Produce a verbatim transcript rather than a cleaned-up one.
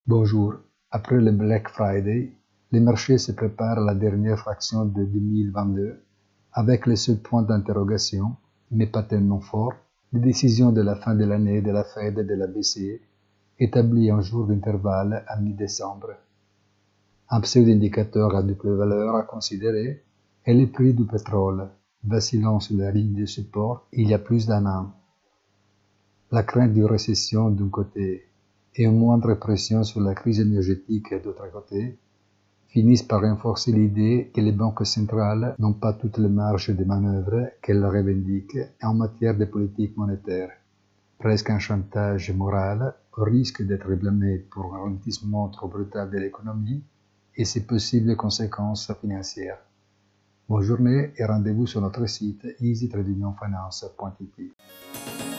Bonjour. Après le Black Friday, les marchés se préparent à la dernière fraction de deux mille vingt-deux avec le seul point d'interrogation, mais pas tellement fort, les décisions de la fin de l'année de la Fed et de la B C E établies en jour d'intervalle à mi-décembre. Un pseudo-indicateur à double valeur à considérer est le prix du pétrole, vacillant sur la ligne de support il y a plus d'un an. La crainte d'une récession d'un côté et une moindre pression sur la crise énergétique d'autre côté finissent par renforcer l'idée que les banques centrales n'ont pas toutes les marges de manœuvre qu'elles revendiquent en matière de politique monétaire. Presque un chantage moral au risque d'être blâmé pour un ralentissement trop brutal de l'économie et ses possibles conséquences financières. Bonne journée et rendez-vous sur notre site easy trading finance point it.